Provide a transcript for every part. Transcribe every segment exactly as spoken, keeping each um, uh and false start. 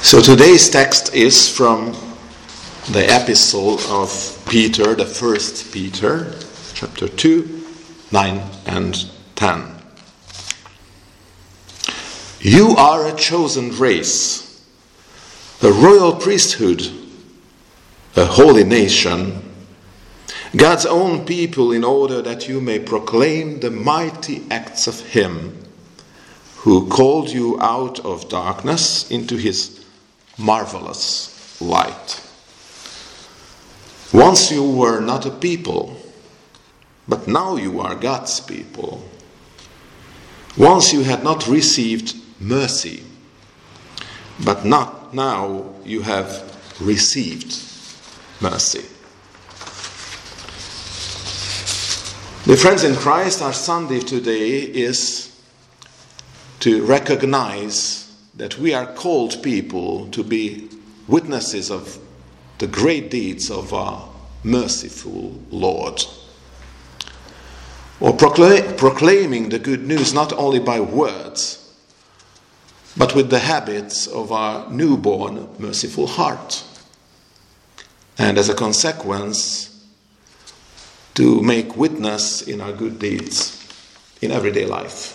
So today's text is from the epistle of Peter, the first Peter, chapter two, nine and ten. You are a chosen race, a royal priesthood, a holy nation, God's own people, in order that you may proclaim the mighty acts of Him who called you out of darkness into His marvelous light. Once you were not a people, but now you are God's people. Once you had not received mercy, but not now you have received mercy. Dear friends in Christ, our Sunday today is to recognize that we are called people to be witnesses of the great deeds of our merciful Lord. Or proclaim, proclaiming the good news not only by words, but with the habits of our newborn merciful heart. And as a consequence, to make witness in our good deeds in everyday life.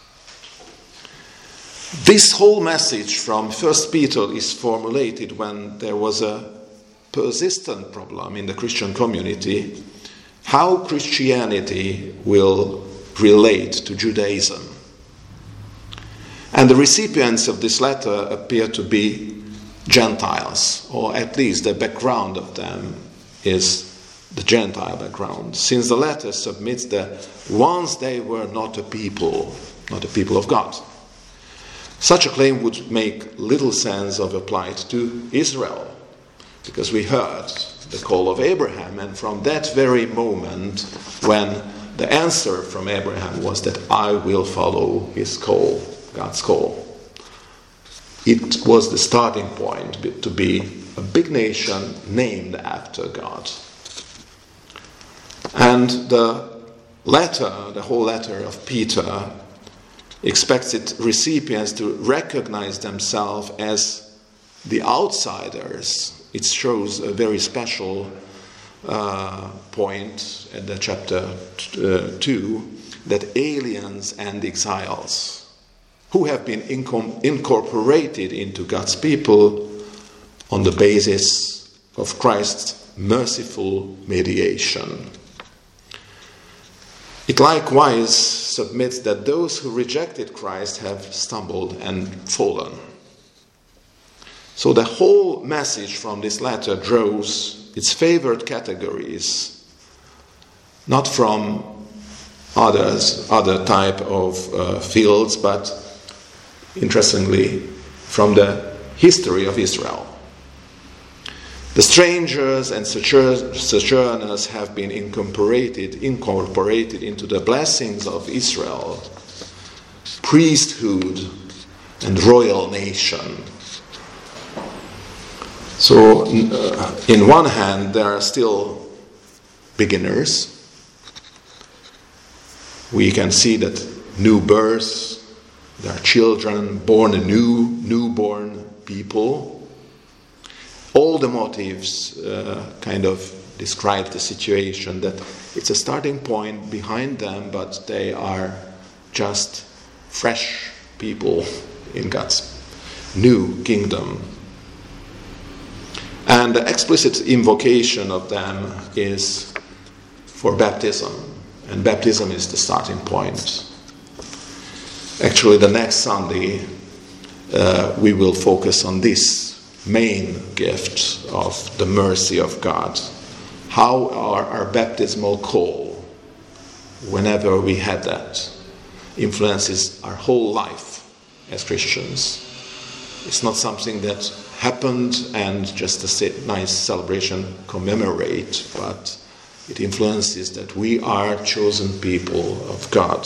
This whole message from First Peter is formulated when there was a persistent problem in the Christian community, how Christianity will relate to Judaism. And the recipients of this letter appear to be Gentiles, or at least the background of them is the Gentile background, since the letter submits that once they were not a people, not a people of God. Such a claim would make little sense of applied to Israel, because we heard the call of Abraham, and from that very moment when the answer from Abraham was that I will follow his call, God's call, it was the starting point to be a big nation named after God. And the letter, the whole letter of Peter, expects its recipients to recognize themselves as the outsiders. It shows a very special uh, point at the chapter uh, two, that aliens and exiles who have been incom- incorporated into God's people on the basis of Christ's merciful mediation. It likewise submits that those who rejected Christ have stumbled and fallen. So the whole message from this letter draws its favored categories, not from others, other type of uh, fields, but interestingly from the history of Israel. The strangers and sojourners have been incorporated, incorporated into the blessings of Israel, priesthood and royal nation. So, uh, in one hand, there are still beginners. We can see that new births, there are children born anew, newborn people. All the motives uh, kind of describe the situation, that it's a starting point behind them, but they are just fresh people in God's new kingdom. And the explicit invocation of them is for baptism, and baptism is the starting point. Actually, the next Sunday uh, we will focus on this main gift of the mercy of God. How our, our baptismal call, whenever we had that, influences our whole life as Christians. It's not something that happened and just a nice celebration commemorate, but it influences that we are chosen people of God.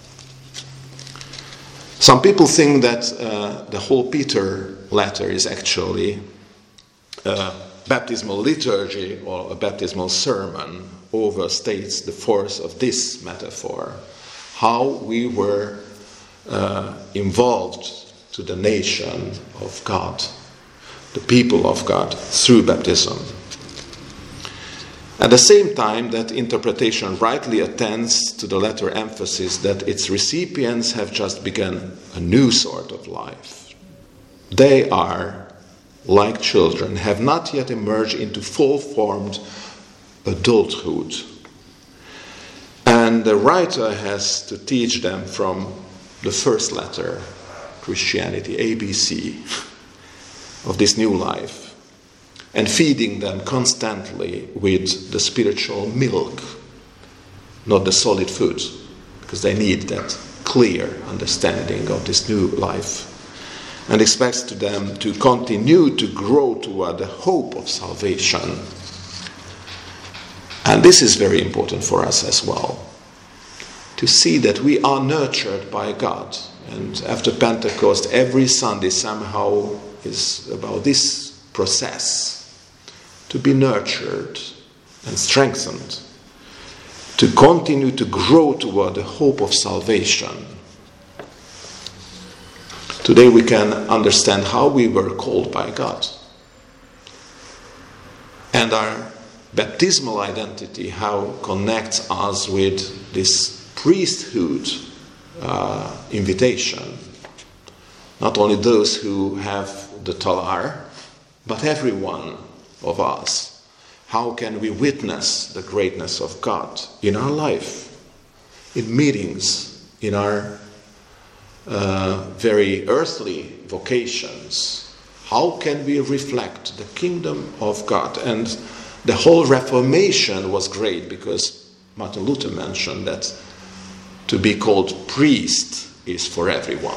Some people think that uh, the whole Peter letter is actually a baptismal liturgy or a baptismal sermon, overstates the force of this metaphor. How we were uh, involved to the nation of God the people of God through baptism. At the same time, that interpretation rightly attends to the latter emphasis that its recipients have just begun a new sort of life. They are, like children, have not yet emerged into full-formed adulthood. And the writer has to teach them from the first letter, Christianity, A B C, of this new life, and feeding them constantly with the spiritual milk, not the solid food, because they need that clear understanding of this new life, and expects to them to continue to grow toward the hope of salvation. And this is very important for us as well, to see that we are nurtured by God. And after Pentecost, every Sunday somehow is about this process, to be nurtured and strengthened, to continue to grow toward the hope of salvation. Today we can understand how we were called by God, and our baptismal identity, how connects us with this priesthood uh, invitation. Not only those who have the talar, but everyone of us. How can we witness the greatness of God in our life, in meetings, in our uh, very earthly vocations? How can we reflect the kingdom of God? And the whole Reformation was great, because Martin Luther mentioned that to be called priest is for everyone.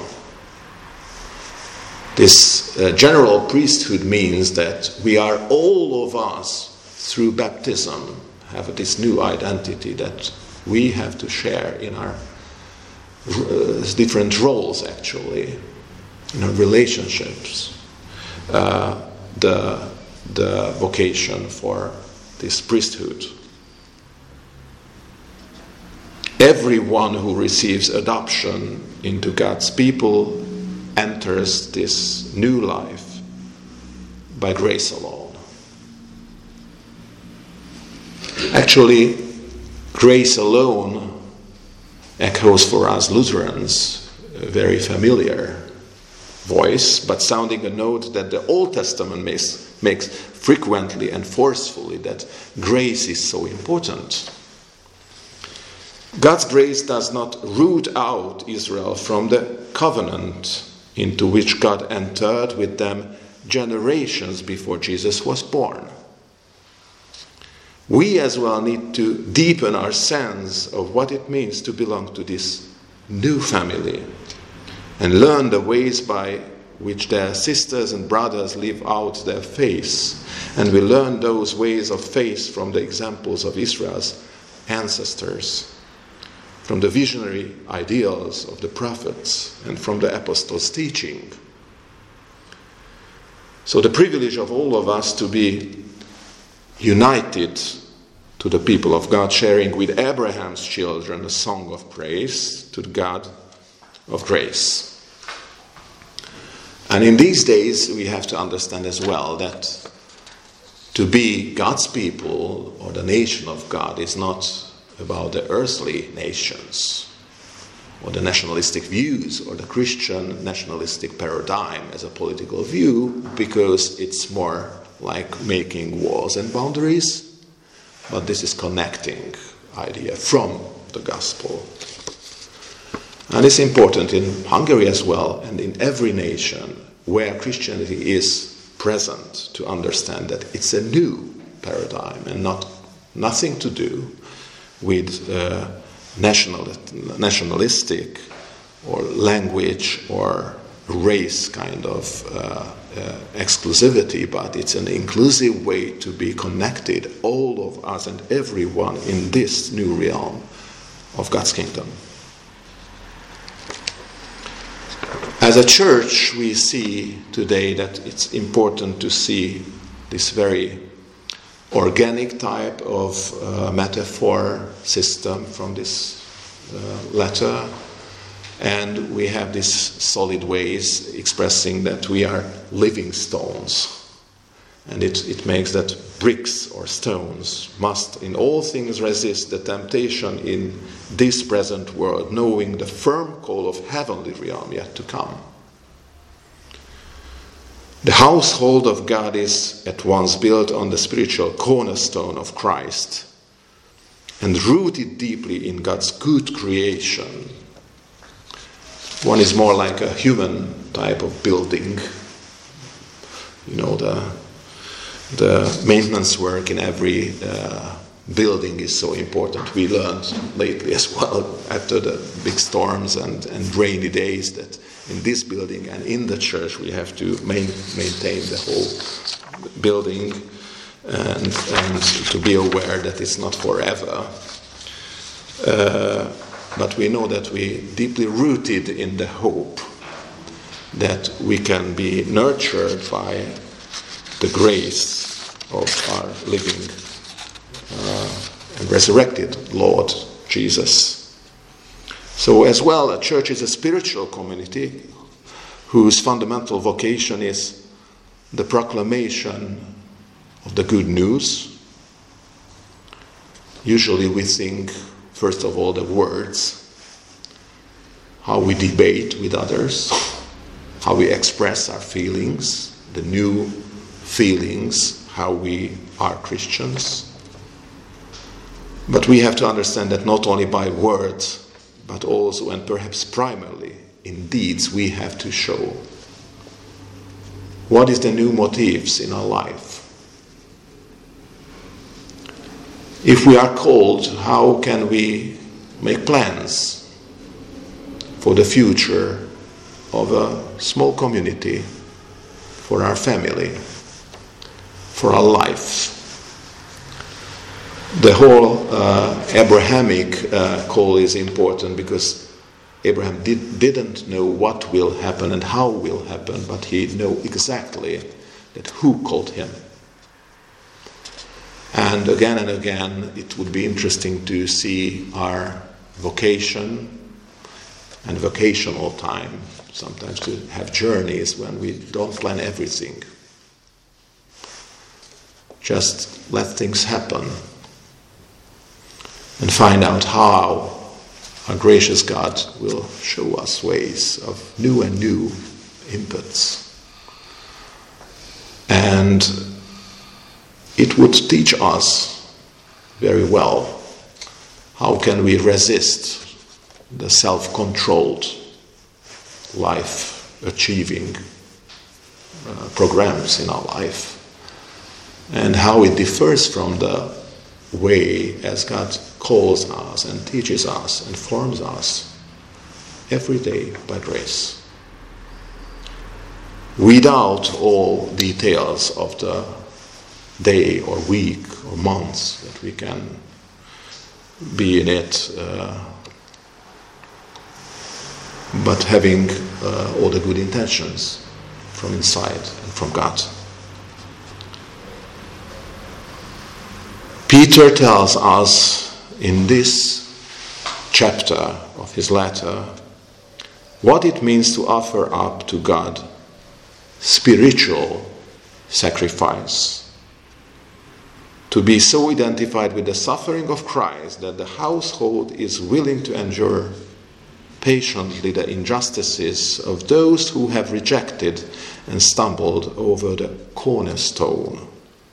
This uh, general priesthood means that we are, all of us, through baptism, have this new identity that we have to share in our uh, different roles, actually, in our relationships, uh, the, the vocation for this priesthood. Everyone who receives adoption into God's people enters this new life by grace alone. Actually, grace alone echoes for us Lutherans a very familiar voice, but sounding a note that the Old Testament makes, makes frequently and forcefully, that grace is so important. God's grace does not root out Israel from the covenant into which God entered with them generations before Jesus was born. We as well need to deepen our sense of what it means to belong to this new family and learn the ways by which their sisters and brothers live out their faith. And we learn those ways of faith from the examples of Israel's ancestors, from the visionary ideals of the prophets, and from the apostles' teaching. So the privilege of all of us to be united to the people of God, sharing with Abraham's children a song of praise to the God of grace. And in these days we have to understand as well that to be God's people, or the nation of God, is not about the earthly nations or the nationalistic views or the Christian nationalistic paradigm as a political view, because it's more like making walls and boundaries, but this is connecting idea from the gospel. And it's important in Hungary as well, and in every nation where Christianity is present, to understand that it's a new paradigm and not nothing to do with uh, national, nationalistic or language or race kind of uh, uh, exclusivity, but it's an inclusive way to be connected, all of us and everyone, in this new realm of God's kingdom. As a church, we see today that it's important to see this very organic type of uh, metaphor system from this uh, letter, and we have these solid ways expressing that we are living stones And it, it makes that bricks or stones must in all things resist the temptation in this present world, knowing the firm call of heavenly realm yet to come. The household of God is at once built on the spiritual cornerstone of Christ and rooted deeply in God's good creation. One is more like a human type of building. You know, the the maintenance work in every uh, building is so important. We learned lately as well after the big storms and, and rainy days that in this building and in the church we have to main, maintain the whole building and, and to be aware that it's not forever. Uh, but we know that we deeply rooted in the hope that we can be nurtured by the grace of our living uh, and resurrected Lord Jesus. So as well, a church is a spiritual community whose fundamental vocation is the proclamation of the good news. Usually we think, first of all, the words, how we debate with others, how we express our feelings, the new feelings, how we are Christians. But we have to understand that not only by words, but also and perhaps primarily in deeds we have to show what is the new motives in our life. If we are called, how can we make plans for the future of a small community, for our family, for our life? The whole uh, Abrahamic uh, call is important because Abraham did, didn't know what will happen and how will happen, but he knew exactly that who called him. And again and again, it would be interesting to see our vocation and vocational time, sometimes to have journeys when we don't plan everything. Just let things happen. And find out how our gracious God will show us ways of new and new inputs. And it would teach us very well how can we resist the self-controlled life-achieving uh, programs in our life, and how it differs from the way as God calls us and teaches us and forms us every day by grace, without all details of the day or week or months that we can be in it, uh, but having uh, all the good intentions from inside and from God. Peter tells us in this chapter of his letter what it means to offer up to God spiritual sacrifice, to be so identified with the suffering of Christ that the household is willing to endure patiently the injustices of those who have rejected and stumbled over the cornerstone.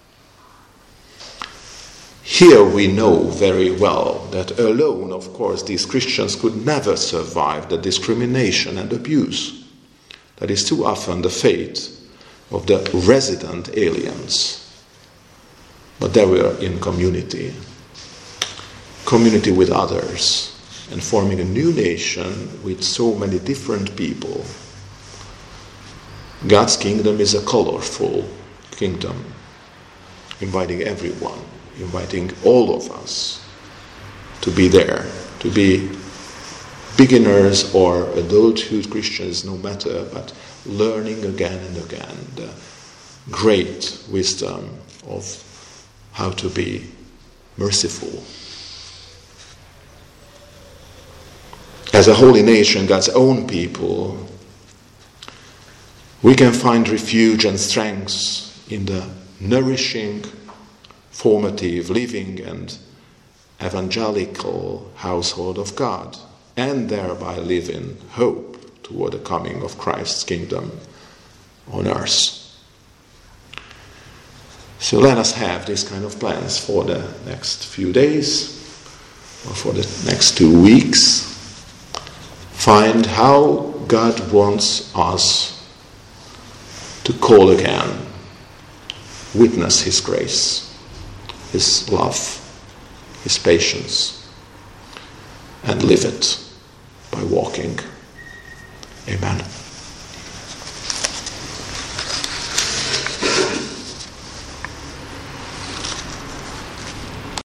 Here we know very well that alone, of course, these Christians could never survive the discrimination and abuse that is too often the fate of the resident aliens. But they were in community, community with others, and forming a new nation with so many different people. God's kingdom is a colorful kingdom, inviting everyone, inviting all of us to be there, to be beginners or adulthood Christians, no matter, but learning again and again the great wisdom of how to be merciful. As a holy nation, God's own people, we can find refuge and strength in the nourishing, formative, living and evangelical household of God, and thereby live in hope toward the coming of Christ's kingdom on earth. So let us have these kind of plans for the next few days or for the next two weeks. Find how God wants us to call again, witness His grace, His love, His patience, and live it by walking. Amen.